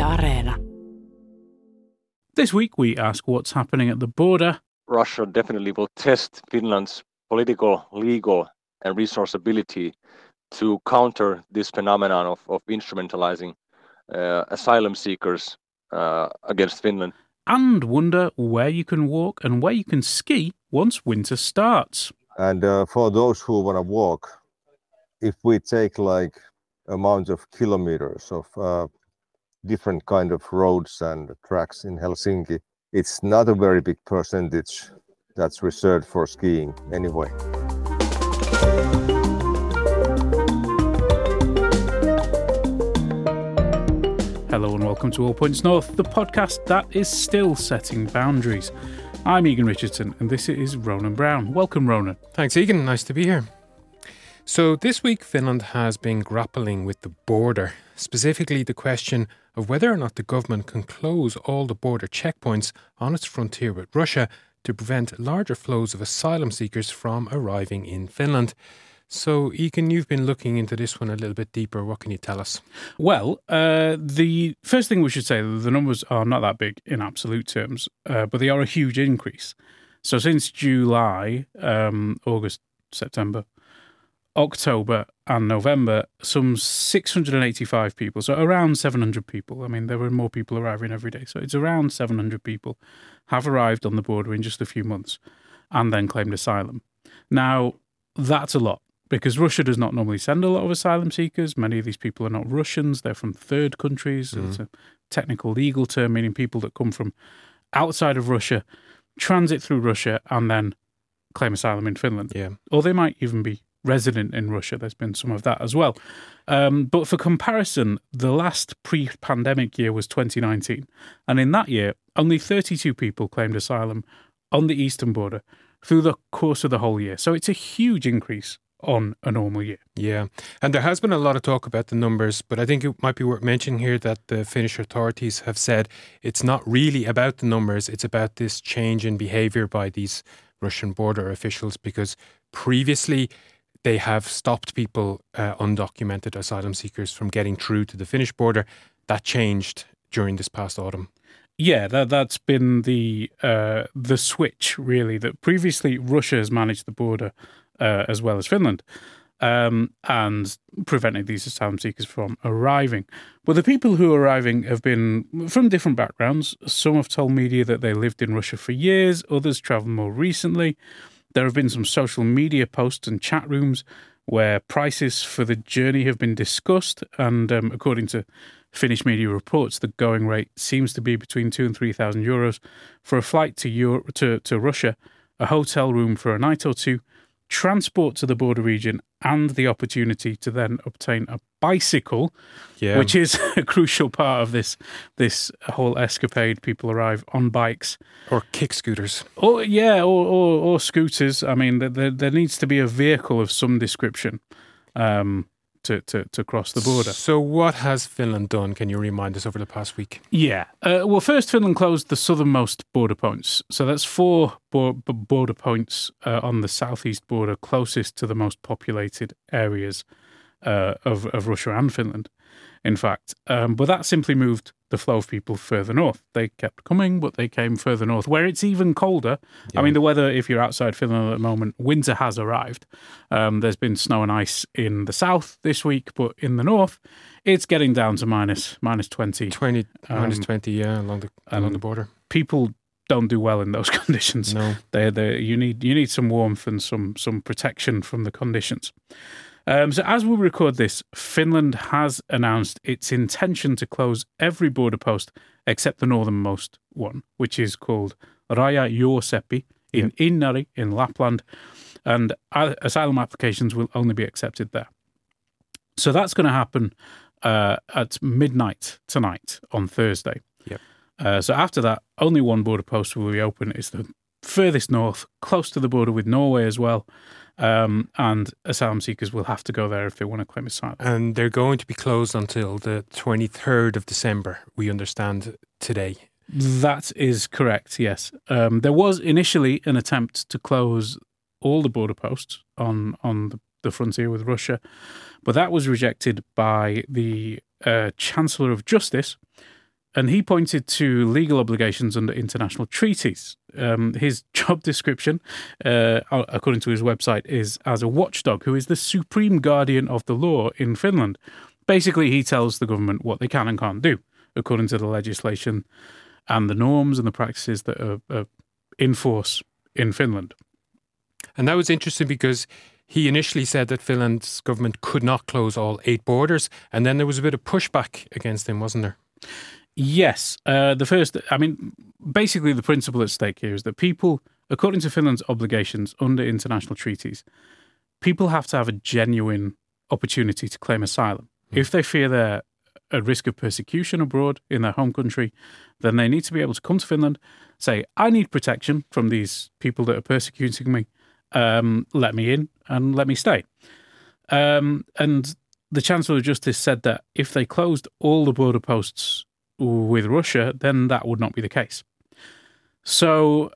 Areena. This week we ask what's happening at the border. Russia definitely will test Finland's political, legal, and resource ability to counter this phenomenon of instrumentalizing asylum seekers against Finland. And wonder where you can walk and where you can ski once winter starts. And for those who want to walk, if we take like amount of kilometers of different kind of roads and tracks in Helsinki, it's not a very big percentage that's reserved for skiing anyway. Hello and welcome to All Points North, the podcast that is still setting boundaries. I'm Egan Richardson and this is Ronan Brown. Welcome, Ronan. Thanks, Egan. Nice to be here. So this week, Finland has been grappling with the border, specifically the question of whether or not the government can close all the border checkpoints on its frontier with Russia to prevent larger flows of asylum seekers from arriving in Finland. So, Egan, you've been looking into this one a little bit deeper. What can you tell us? Well, the first thing we should say, the numbers are not that big in absolute terms, but they are a huge increase. So since July, August, September, October and November, some 685 people, so around 700 people. I mean, there were more people arriving every day. So it's around 700 people have arrived on the border in just a few months and then claimed asylum. Now, that's a lot because Russia does not normally send a lot of asylum seekers. Many of these people are not Russians. They're from third countries. It's a technical legal term, meaning people that come from outside of Russia, transit through Russia and then claim asylum in Finland. Yeah. Or they might even be resident in Russia. There's been some of that as well. But for comparison, the last pre-pandemic year was 2019. And in that year, only 32 people claimed asylum on the eastern border through the course of the whole year. So it's a huge increase on a normal year. Yeah, and there has been a lot of talk about the numbers, but I think it might be worth mentioning here that the Finnish authorities have said it's not really about the numbers, it's about this change in behaviour by these Russian border officials, because previously they have stopped people, undocumented asylum seekers, from getting through to the Finnish border. That changed during this past autumn. Yeah, that's been the switch, really, that previously Russia has managed the border as well as Finland and prevented these asylum seekers from arriving. But the people who are arriving have been from different backgrounds. Some have told media that they lived in Russia for years, others travelled more recently. There have been some social media posts and chat rooms where prices for the journey have been discussed. And according to Finnish media reports, the going rate seems to be between 2,000 and 3,000 euros for a flight to Russia, a hotel room for a night or two, transport to the border region, and the opportunity to then obtain a bicycle, which is a crucial part of this whole escapade. People arrive on bikes. Or kick scooters. Or scooters. I mean, there needs to be a vehicle of some description to cross the border. So what has Finland done? Can you remind us over the past week? Yeah. Well, first, Finland closed the southernmost border points. So that's 4 border points on the southeast border closest to the most populated areas of Russia and Finland, in fact. But that simply moved the flow of people further north. They kept coming, but they came further north, where it's even colder. Yeah. I mean, the weather, if you're outside Finland at the moment, winter has arrived. There's been snow and ice in the south this week, but in the north, it's getting down to minus 20. Minus 20, yeah, along the border. People don't do well in those conditions. No. You need some warmth and some protection from the conditions. So as we record this, Finland has announced its intention to close every border post except the northernmost one, which is called Raja-Jooseppi in Inari in Lapland, and asylum applications will only be accepted there. So that's going to happen at midnight tonight on Thursday. Yep. So after that, only one border post will be open. It's the furthest north, close to the border with Norway as well. And asylum seekers will have to go there if they want to claim asylum. And they're going to be closed until the 23rd of December, we understand today. That is correct, yes. There was initially an attempt to close all the border posts on the frontier with Russia, but that was rejected by the Chancellor of Justice, And he pointed to legal obligations under international treaties. His job description, according to his website, is as a watchdog who is the supreme guardian of the law in Finland. Basically, he tells the government what they can and can't do, according to the legislation and the norms and the practices that are in force in Finland. And that was interesting because he initially said that Finland's government could not close all 8 borders, and then there was a bit of pushback against him, wasn't there? Yes. Basically the principle at stake here is that people, according to Finland's obligations under international treaties, people have to have a genuine opportunity to claim asylum. If they fear they're at risk of persecution abroad in their home country, then they need to be able to come to Finland, say, I need protection from these people that are persecuting me. Let me in and let me stay. And the Chancellor of Justice said that if they closed all the border posts with Russia, then that would not be the case. So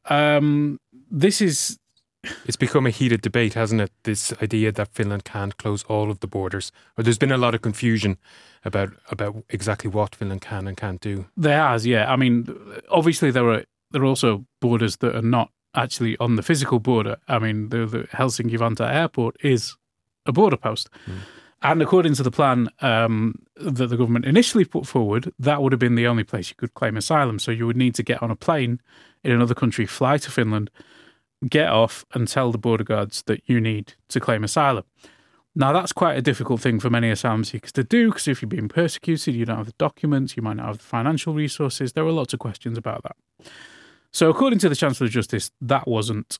It's become a heated debate, hasn't it? This idea that Finland can't close all of the borders. Or there's been a lot of confusion about exactly what Finland can and can't do. There has, yeah. I mean, obviously there are also borders that are not actually on the physical border. I mean, the Helsinki-Vantaa airport is a border post. And according to the plan that the government initially put forward, that would have been the only place you could claim asylum. So you would need to get on a plane in another country, fly to Finland, get off and tell the border guards that you need to claim asylum. Now, that's quite a difficult thing for many asylum seekers to do because if you're being persecuted, you don't have the documents, you might not have the financial resources. There are lots of questions about that. So according to the Chancellor of Justice, that wasn't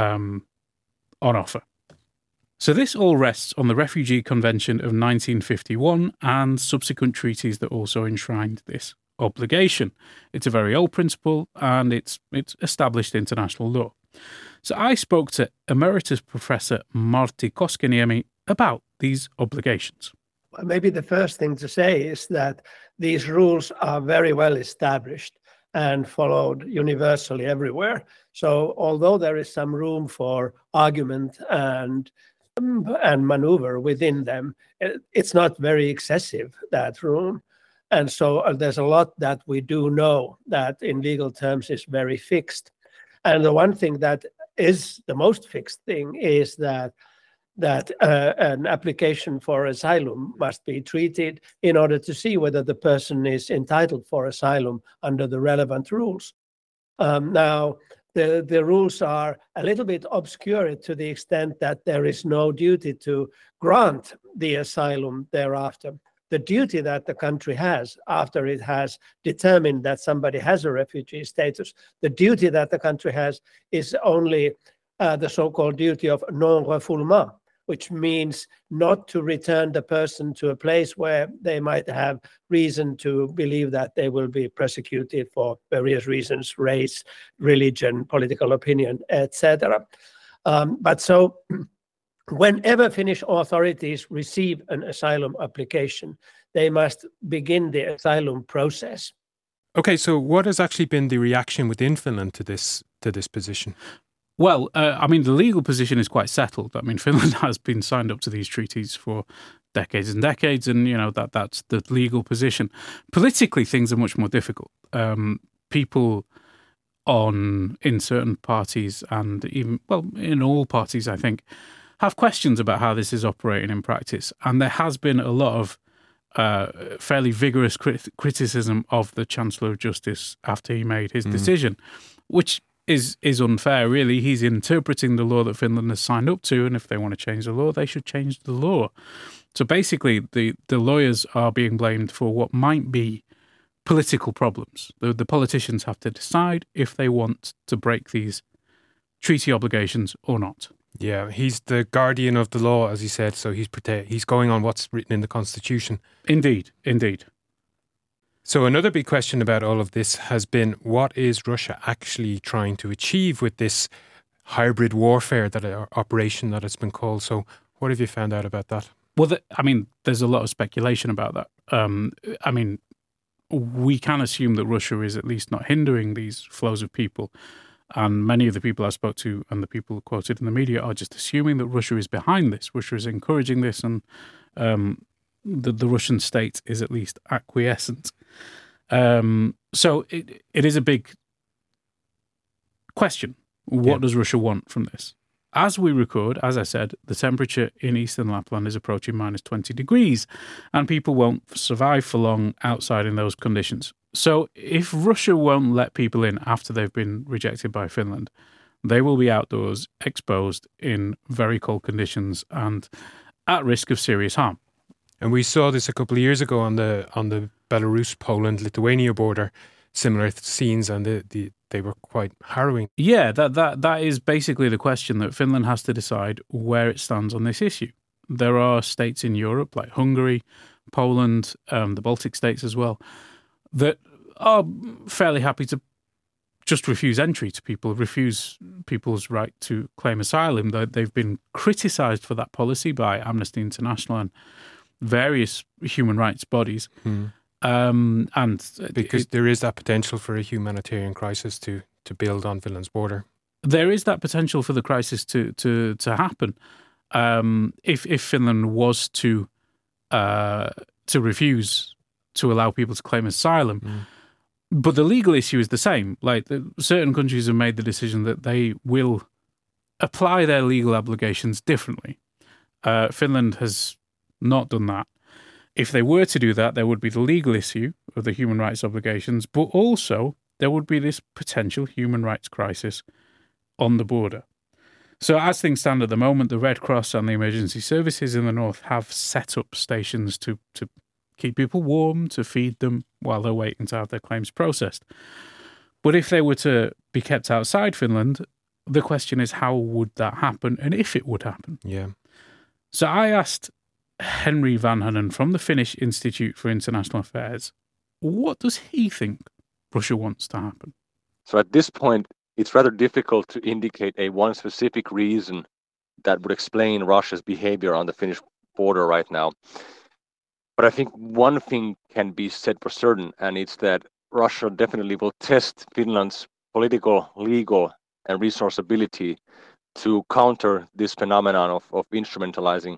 on offer. So this all rests on the Refugee Convention of 1951 and subsequent treaties that also enshrined this obligation. It's a very old principle and it's established international law. So I spoke to Emeritus Professor Martti Koskiniemi about these obligations. Maybe the first thing to say is that these rules are very well established and followed universally everywhere. So although there is some room for argument and maneuver within them, it's not very excessive, that room. And so there's a lot that we do know that in legal terms is very fixed. And the one thing that is the most fixed thing is that an application for asylum must be treated in order to see whether the person is entitled for asylum under the relevant rules. Now, the rules are a little bit obscure to the extent that there is no duty to grant the asylum thereafter. The duty that the country has after it has determined that somebody has a refugee status, the duty that the country has is only the so-called duty of non-refoulement, which means not to return the person to a place where they might have reason to believe that they will be persecuted for various reasons, race, religion, political opinion, etc. But so whenever Finnish authorities receive an asylum application, they must begin the asylum process. Okay, so what has actually been the reaction within Finland to this position? Well, the legal position is quite settled. I mean, Finland has been signed up to these treaties for decades and decades, and, that's the legal position. Politically, things are much more difficult. People in certain parties and even, in all parties, I think, have questions about how this is operating in practice. And there has been a lot of fairly vigorous criticism of the Chancellor of Justice after he made his decision, which is unfair, really. He's interpreting the law that Finland has signed up to, and if they want to change the law, they should change the law. So basically, the lawyers are being blamed for what might be political problems. The politicians have to decide if they want to break these treaty obligations or not. Yeah, he's the guardian of the law, as he said, so he's going on what's written in the Constitution. Indeed. So another big question about all of this has been, what is Russia actually trying to achieve with this hybrid warfare operation that it's been called? So what have you found out about that? Well, there's a lot of speculation about that. We can assume that Russia is at least not hindering these flows of people. And many of the people I spoke to and the people quoted in the media are just assuming that Russia is behind this. Russia is encouraging this, and the Russian state is at least acquiescent. So it is a big question. What does Russia want from this? As we record, as I said, the temperature in eastern Lapland is approaching minus 20 degrees, and people won't survive for long outside in those conditions. So if Russia won't let people in after they've been rejected by Finland, they will be outdoors, exposed in very cold conditions and at risk of serious harm. And we saw this a couple of years ago on the Belarus, Poland, Lithuania border. Similar scenes, and they were quite harrowing. Yeah, that is basically the question that Finland has to decide where it stands on this issue. There are states in Europe like Hungary, Poland, the Baltic states as well, that are fairly happy to just refuse entry to people, refuse people's right to claim asylum. They've been criticised for that policy by Amnesty International and various human rights bodies. And because there is that potential for a humanitarian crisis to build on Finland's border. There is that potential for the crisis to happen if Finland was to refuse to allow people to claim asylum. But the legal issue is the same. Like certain countries have made the decision that they will apply their legal obligations differently. Finland has not done that. If they were to do that, there would be the legal issue of the human rights obligations, but also there would be this potential human rights crisis on the border. So as things stand at the moment, the Red Cross and the emergency services in the north have set up stations to keep people warm, to feed them while they're waiting to have their claims processed. But if they were to be kept outside Finland, the question is how would that happen and if it would happen? Yeah. So I asked Henry Vanhanen from the Finnish Institute for International Affairs, what does he think Russia wants to happen? So at this point, it's rather difficult to indicate a one specific reason that would explain Russia's behavior on the Finnish border right now. But I think one thing can be said for certain, and it's that Russia definitely will test Finland's political, legal, and resource ability to counter this phenomenon of instrumentalizing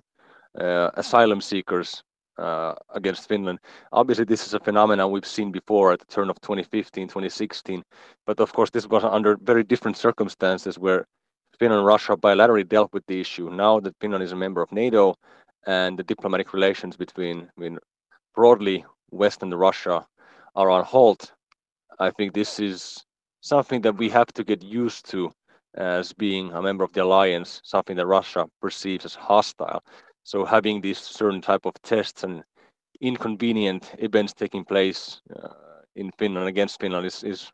asylum seekers against Finland. Obviously, this is a phenomenon we've seen before at the turn of 2015, 2016. But of course, this was under very different circumstances where Finland and Russia bilaterally dealt with the issue. Now that Finland is a member of NATO and the diplomatic relations between broadly West and Russia are on halt, I think this is something that we have to get used to as being a member of the alliance, something that Russia perceives as hostile. So having these certain type of tests and inconvenient events taking place in Finland against Finland is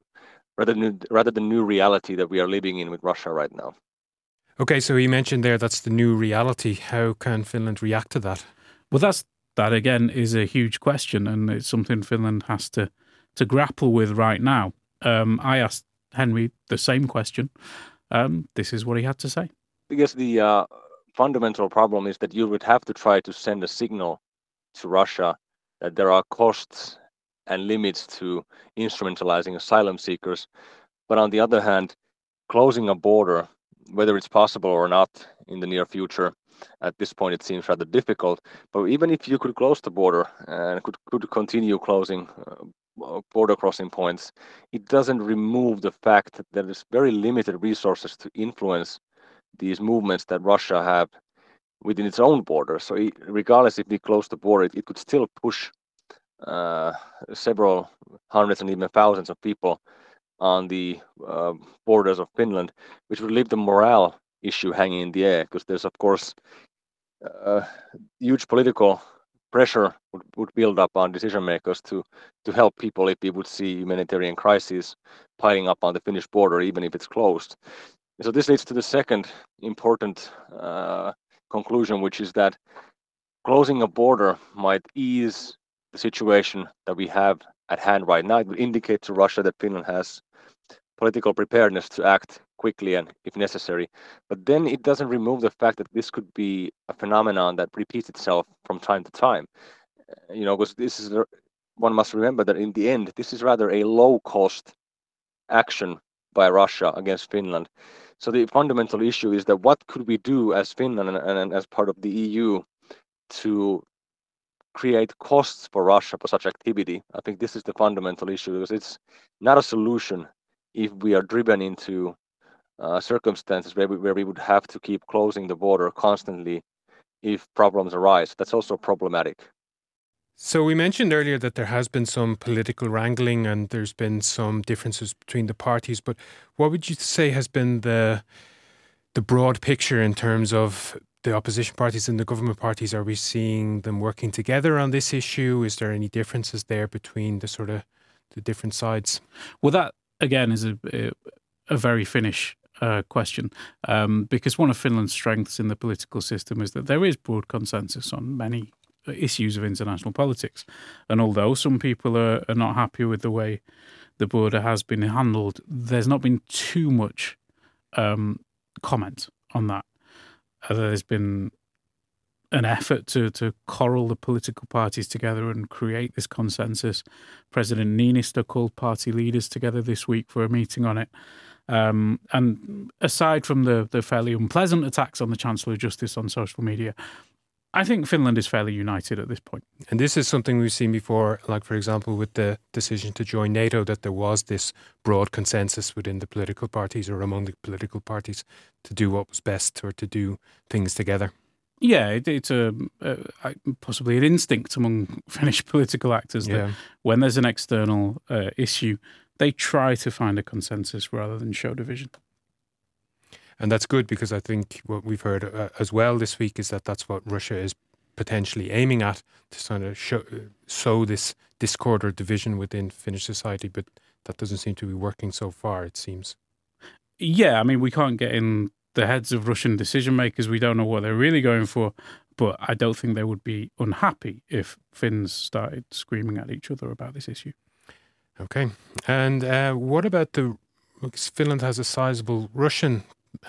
rather the new reality that we are living in with Russia right now. Okay, so you mentioned there that's the new reality. How can Finland react to that? Well, that again is a huge question, and it's something Finland has to grapple with right now. I asked Henry the same question. This is what he had to say. I guess the fundamental problem is that you would have to try to send a signal to Russia that there are costs and limits to instrumentalizing asylum seekers. But on the other hand, closing a border, whether it's possible or not in the near future, at this point it seems rather difficult. But even if you could close the border and could continue closing border crossing points, it doesn't remove the fact that there is very limited resources to influence these movements that Russia have within its own border. So regardless if we close the border, it could still push several hundreds and even thousands of people on the borders of Finland, which would leave the morale issue hanging in the air, because there's of course huge political pressure would build up on decision makers to help people if we would see humanitarian crises piling up on the Finnish border, even if it's closed. So this leads to the second important conclusion, which is that closing a border might ease the situation that we have at hand right now. It would indicate to Russia that Finland has political preparedness to act quickly and if necessary. But then it doesn't remove the fact that this could be a phenomenon that repeats itself from time to time. Because this is one must remember that in the end, this is rather a low-cost action by Russia against Finland. So the fundamental issue is that what could we do as Finland and as part of the EU to create costs for Russia for such activity. I think this is the fundamental issue, because it's not a solution if we are driven into circumstances where we would have to keep closing the border constantly if problems arise. That's also problematic. So we mentioned earlier that there has been some political wrangling and there's been some differences between the parties, but what would you say has been the broad picture in terms of the opposition parties and the government parties? Are we seeing them working together on this issue? Is there any differences there between the different sides? Well, that again is a very Finnish question, because one of Finland's strengths in the political system is that there is broad consensus on many issues of international politics. And although some people are not happy with the way the border has been handled, there's not been too much comment on that. There's been an effort to corral the political parties together and create this consensus. President Niinistö called party leaders together this week for a meeting on it. And aside from the fairly unpleasant attacks on the Chancellor of Justice on social media, I think Finland is fairly united at this point. And this is something we've seen before, like, for example, with the decision to join NATO, that there was this broad consensus within the political parties or among the political parties to do what was best or to do things together. Yeah, it's possibly an instinct among Finnish political actors that when there's an external issue, they try to find a consensus rather than show division. And that's good, because I think what we've heard as well this week is that that's what Russia is potentially aiming at, to sort of sow this discord or division within Finnish society. But that doesn't seem to be working so far, it seems. Yeah, I mean, we can't get in the heads of Russian decision makers. We don't know what they're really going for. But I don't think they would be unhappy if Finns started screaming at each other about this issue. Okay. And what about Finland has a sizable Russian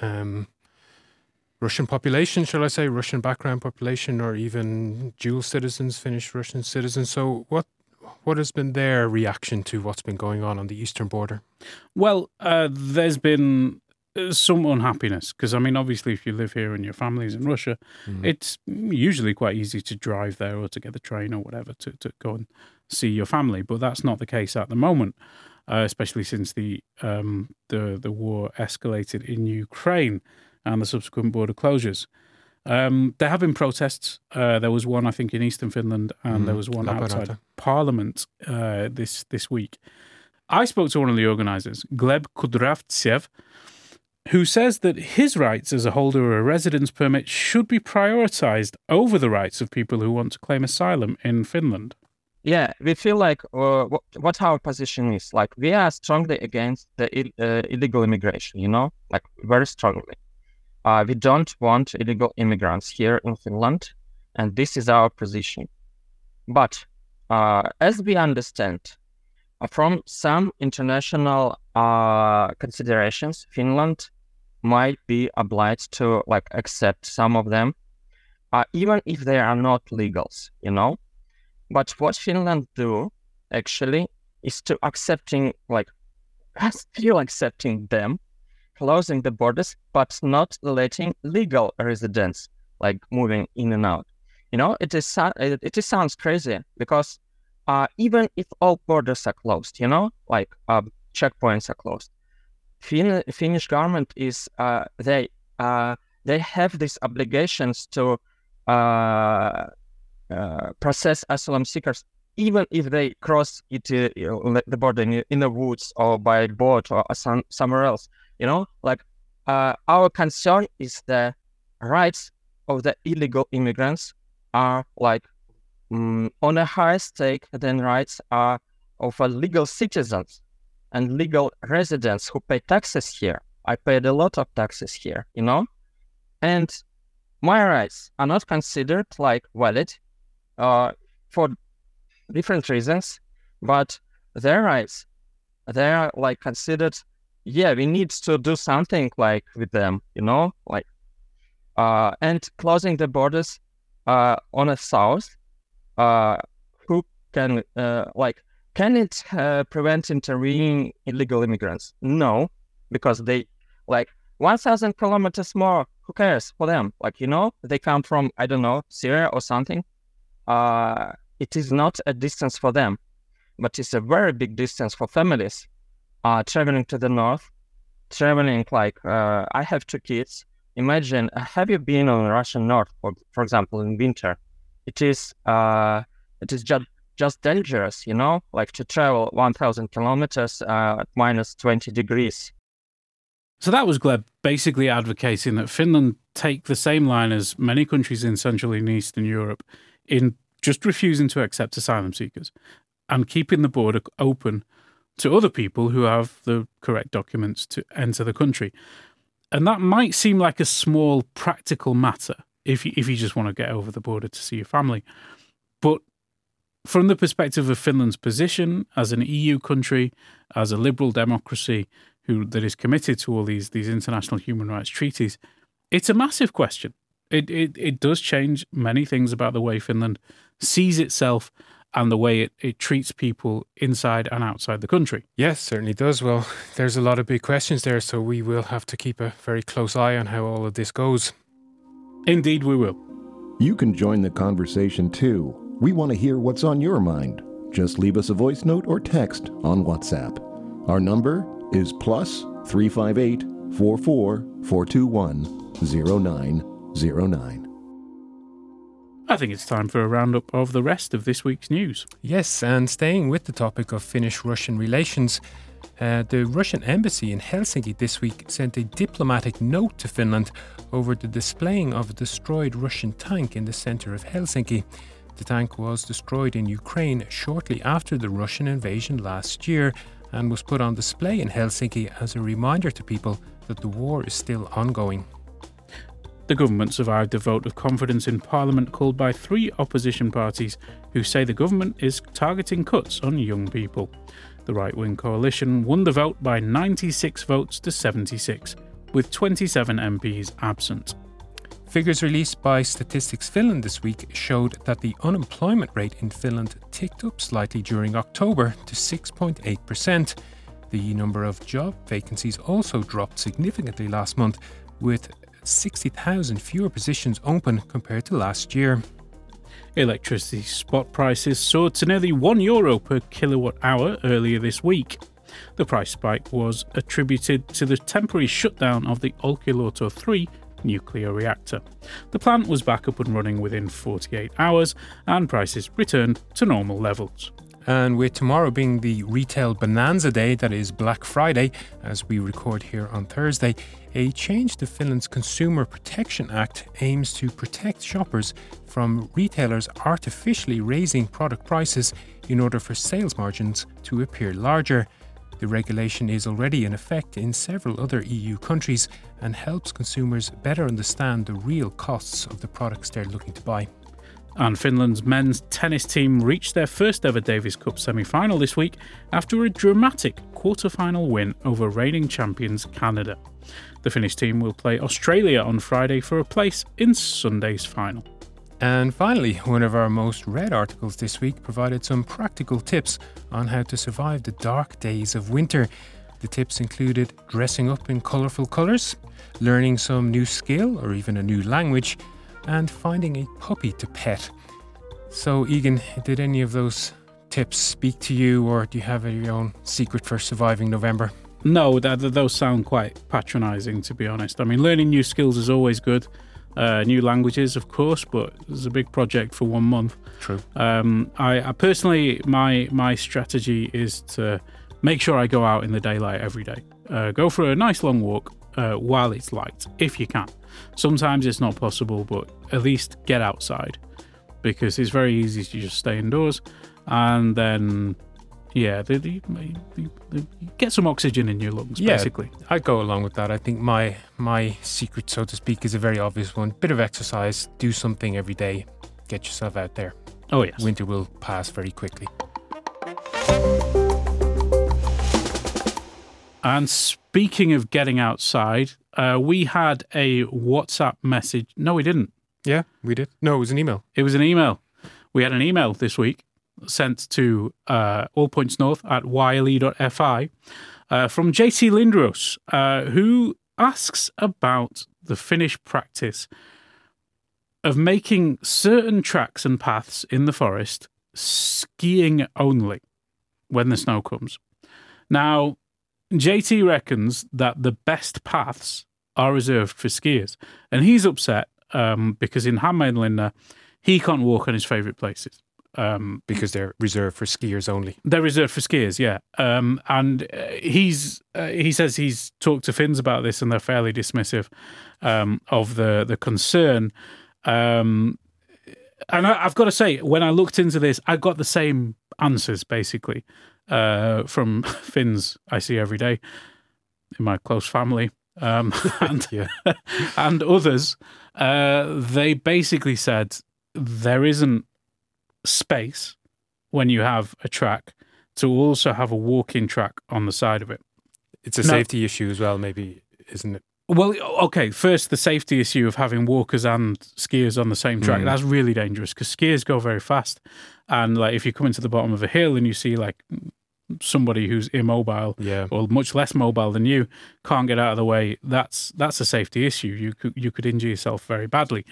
population, shall I say, Russian background population, or even dual citizens, Finnish Russian citizens. So what has been their reaction to what's been going on the eastern border? Well, there's been some unhappiness, because I mean, obviously, if you live here and your family's in Russia, it's usually quite easy to drive there or to get the train or whatever to go and see your family. But that's not the case at the moment. Especially since the war escalated in Ukraine and the subsequent border closures. There have been protests. There was one, I think, in eastern Finland, and there was one outside Parliament this week. I spoke to one of the organisers, Gleb Kudravtsev, who says that his rights as a holder of a residence permit should be prioritised over the rights of people who want to claim asylum in Finland. Yeah, we feel like what our position is. Like, we are strongly against the illegal immigration, like very strongly. We don't want illegal immigrants here in Finland, and this is our position. But as we understand, from some international considerations, Finland might be obliged to accept some of them, even if they are not legals, But what Finland do actually is to accepting them, closing the borders, but not letting legal residents moving in and out. It sounds crazy, because even if all borders are closed, checkpoints are closed, Finnish government is they have these obligations to process asylum seekers, even if they cross the border in the woods or by boat or somewhere else. Our concern is the rights of the illegal immigrants are on a higher stake than rights are of legal citizens and legal residents who pay taxes here. I paid a lot of taxes here, and my rights are not considered valid for different reasons, but their rights, they are considered, we need to do something with them, and closing the borders on the south, who can can it prevent intervening illegal immigrants? No, because they 1,000 kilometers more, who cares for them? They come from, I don't know, Syria or something. it is not a distance for them, but it's a very big distance for families traveling to the north, traveling I have 2 kids. Imagine, have you been on Russian north, for example, in winter? It is just dangerous, like to travel 1,000 kilometers at minus 20 degrees. So that was Gleb basically advocating that Finland take the same line as many countries in Central and Eastern Europe in just refusing to accept asylum seekers and keeping the border open to other people who have the correct documents to enter the country. And that might seem like a small practical matter if you just want to get over the border to see your family. But from the perspective of Finland's position as an EU country, as a liberal democracy that is committed to all these international human rights treaties, it's a massive question. It does change many things about the way Finland sees itself and the way it treats people inside and outside the country. Yes, certainly does. Well, there's a lot of big questions there, so we will have to keep a very close eye on how all of this goes. Indeed, we will. You can join the conversation too. We want to hear what's on your mind. Just leave us a voice note or text on WhatsApp. Our number is +358 44 421 0909. I think it's time for a roundup of the rest of this week's news. Yes, and staying with the topic of Finnish-Russian relations, the Russian embassy in Helsinki this week sent a diplomatic note to Finland over the displaying of a destroyed Russian tank in the center of Helsinki. The tank was destroyed in Ukraine shortly after the Russian invasion last year and was put on display in Helsinki as a reminder to people that the war is still ongoing. The government survived a vote of confidence in Parliament called by 3 opposition parties who say the government is targeting cuts on young people. The right-wing coalition won the vote by 96 votes to 76, with 27 MPs absent. Figures released by Statistics Finland this week showed that the unemployment rate in Finland ticked up slightly during October to 6.8%. The number of job vacancies also dropped significantly last month, with 60,000 fewer positions open compared to last year. Electricity spot prices soared to nearly €1 per kilowatt hour earlier this week. The price spike was attributed to the temporary shutdown of the Olkiluoto 3 nuclear reactor. The plant was back up and running within 48 hours and prices returned to normal levels. And with tomorrow being the retail bonanza day, that is Black Friday, as we record here on Thursday, a change to Finland's Consumer Protection Act aims to protect shoppers from retailers artificially raising product prices in order for sales margins to appear larger. The regulation is already in effect in several other EU countries and helps consumers better understand the real costs of the products they're looking to buy. And Finland's men's tennis team reached their first ever Davis Cup semi-final this week after a dramatic quarter-final win over reigning champions Canada. The Finnish team will play Australia on Friday for a place in Sunday's final. And finally, one of our most read articles this week provided some practical tips on how to survive the dark days of winter. The tips included dressing up in colourful colours, learning some new skill or even a new language, and finding a puppy to pet. So, Egan, did any of those tips speak to you, or do you have your own secret for surviving November? No, those sound quite patronising, to be honest. I mean, learning new skills is always good. New languages, of course, but it's a big project for 1 month. True. I personally, my strategy is to make sure I go out in the daylight every day. Go for a nice long walk while it's light, if you can. Sometimes it's not possible, but at least get outside, because it's very easy to just stay indoors, and then you get some oxygen in your lungs, basically. I go along with that. I think my secret, so to speak, is a very obvious one. Bit of exercise, do something every day, get yourself out there. Oh yes. Winter will pass very quickly. And speaking of getting outside, we had a WhatsApp message. No, we didn't. Yeah, we did. No, it was an email. It was an email. We had an email this week sent to allpointsnorth@yle.fi from JC Lindros, who asks about the Finnish practice of making certain tracks and paths in the forest skiing only when the snow comes. Now, JT reckons that the best paths are reserved for skiers, and he's upset because in Hämeenlinna he can't walk on his favourite places. Because they're reserved for skiers only. They're reserved for skiers, yeah. And he says he's talked to Finns about this, and they're fairly dismissive of the concern. And I've got to say, when I looked into this, I got the same answers basically from Finns I see every day in my close family, and and others. They basically said there isn't space when you have a track to also have a walking track on the side of it. It's a safety issue as well, maybe, isn't it? Well, okay, first the safety issue of having walkers and skiers on the same track. That's really dangerous because skiers go very fast, and like if you come into the bottom of a hill and you see like somebody who's immobile or much less mobile than you can't get out of the way, that's a safety issue. You could injure yourself very badly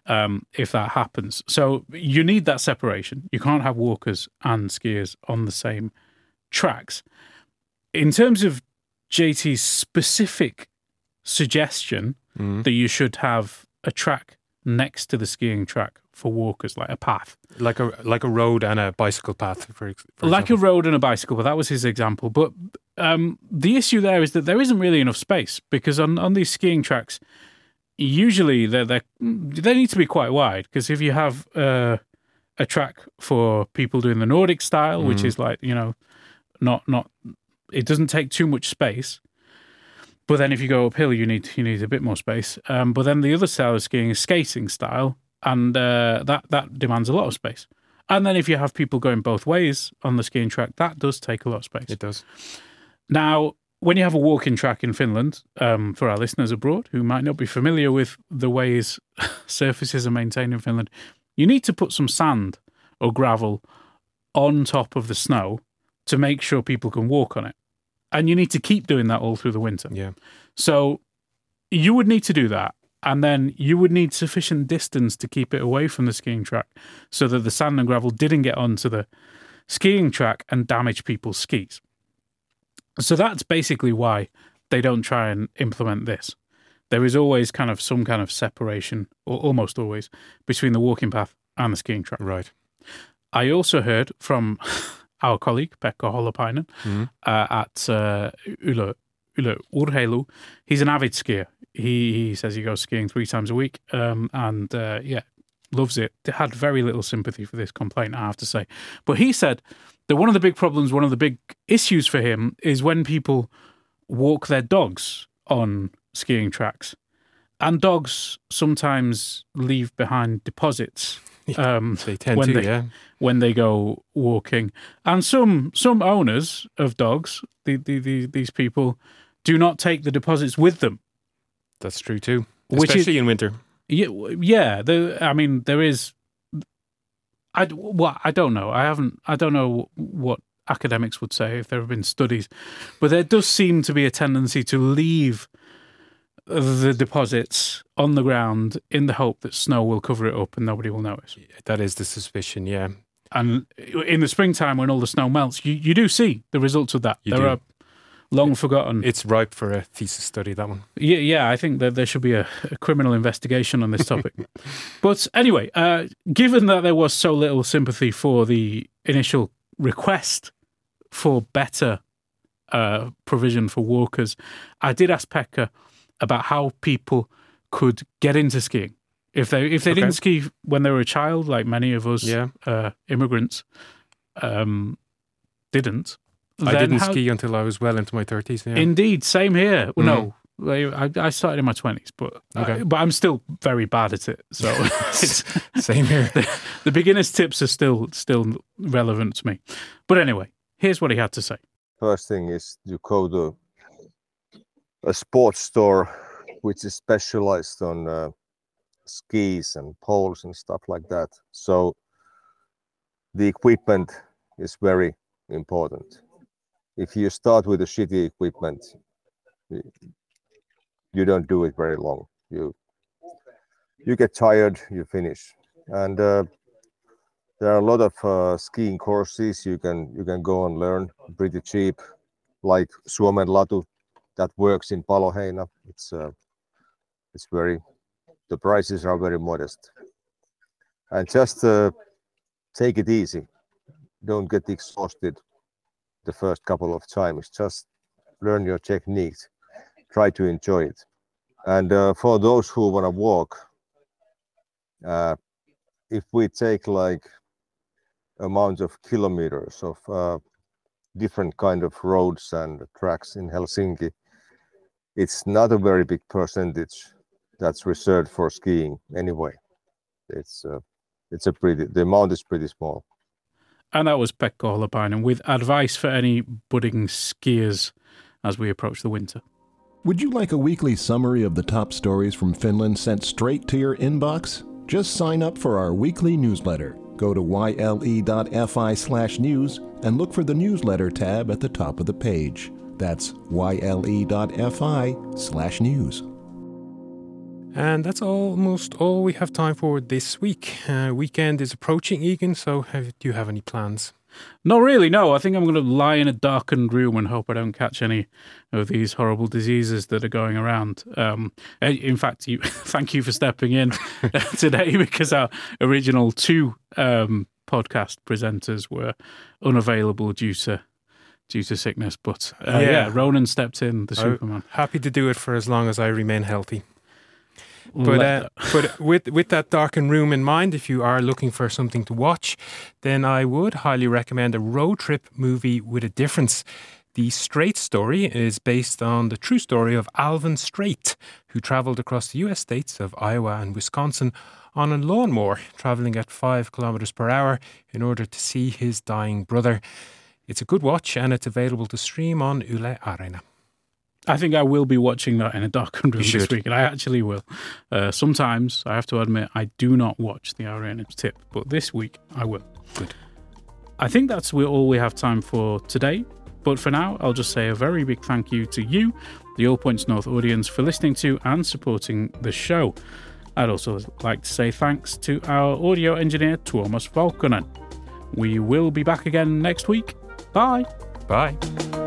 if that happens. So you need that separation. You can't have walkers and skiers on the same tracks. In terms of JT's specific suggestion that you should have a track next to the skiing track for walkers, like a path, like a road and a bicycle path, for like example. a road and a bicycle. But that was his example. But the issue there is that there isn't really enough space because on these skiing tracks, usually they need to be quite wide because if you have a track for people doing the Nordic style, which is like not it doesn't take too much space. But then if you go uphill, you need a bit more space. But then the other style of skiing is skating style, and that demands a lot of space. And then if you have people going both ways on the skiing track, that does take a lot of space. It does. Now, when you have a walking track in Finland, for our listeners abroad who might not be familiar with the ways surfaces are maintained in Finland, you need to put some sand or gravel on top of the snow to make sure people can walk on it. And you need to keep doing that all through the winter. Yeah. So you would need to do that. And then you would need sufficient distance to keep it away from the skiing track so that the sand and gravel didn't get onto the skiing track and damage people's skis. So that's basically why they don't try and implement this. There is always some kind of separation, or almost always, between the walking path and the skiing track. Right. I also heard from our colleague, Pekka Holopainen, at Yle Urheilu. He's an avid skier. He says he goes skiing 3 times a week and loves it. Had very little sympathy for this complaint, I have to say. But he said that one of the big problems, one of the big issues for him is when people walk their dogs on skiing tracks. And dogs sometimes leave behind deposits. They tend when they go walking, and some owners of dogs, these people, do not take the deposits with them. That's true too, especially in winter. Yeah. There is. I don't know. I don't know what academics would say if there have been studies, but there does seem to be a tendency to leave the deposits on the ground in the hope that snow will cover it up and nobody will notice. That is the suspicion, yeah. And in the springtime when all the snow melts, you do see the results of that. There are long forgotten. It's ripe for a thesis study, that one. Yeah, I think that there should be a criminal investigation on this topic. But anyway, given that there was so little sympathy for the initial request for better provision for walkers, I did ask Pekka about how people could get into skiing. If they didn't ski when they were a child, like many of us immigrants didn't. I didn't ski until I was well into my 30s. Yeah. Indeed, same here. Well, no, I started in my 20s, but I'm still very bad at it. So it's same here. The beginner's tips are still relevant to me. But anyway, here's what he had to say. First thing is you go to a sports store which is specialized on skis and poles and stuff like that. So the equipment is very important. If you start with a shitty equipment, you don't do it very long. you get tired, you finish. And there are a lot of skiing courses you can go and learn pretty cheap, like Suomen Latu that works in Paloheina. The prices are very modest. And just take it easy. Don't get exhausted the first couple of times. Just learn your techniques. Try to enjoy it. And for those who want to walk, if we take like amount of kilometers of different kind of roads and tracks in Helsinki, it's not a very big percentage that's reserved for skiing anyway. The amount is pretty small. And that was Pekka Holopainen with advice for any budding skiers as we approach the winter. Would you like a weekly summary of the top stories from Finland sent straight to your inbox? Just sign up for our weekly newsletter. Go to yle.fi/news and look for the newsletter tab at the top of the page. That's yle.fi/news. And that's almost all we have time for this week. Weekend is approaching, Egan, so do you have any plans? Not really, no. I think I'm going to lie in a darkened room and hope I don't catch any of these horrible diseases that are going around. In fact, thank you for stepping in today, because our original two podcast presenters were unavailable due to sickness. But Ronan stepped in, the Superman. Happy to do it for as long as I remain healthy. But with that darkened room in mind, if you are looking for something to watch, then I would highly recommend a road trip movie with a difference. The Strait Story is based on the true story of Alvin Strait, who travelled across the US states of Iowa and Wisconsin on a lawnmower, travelling at 5 kilometers per hour in order to see his dying brother. It's a good watch, and it's available to stream on Yle Areena. I think I will be watching that in a darkened room this week, and I actually will. Sometimes, I have to admit, I do not watch the Areena tip, but this week I will. Good. I think that's all we have time for today. But for now, I'll just say a very big thank you to you, the All Points North audience, for listening to and supporting the show. I'd also like to say thanks to our audio engineer, Tuomas Valkonen. We will be back again next week. Bye. Bye.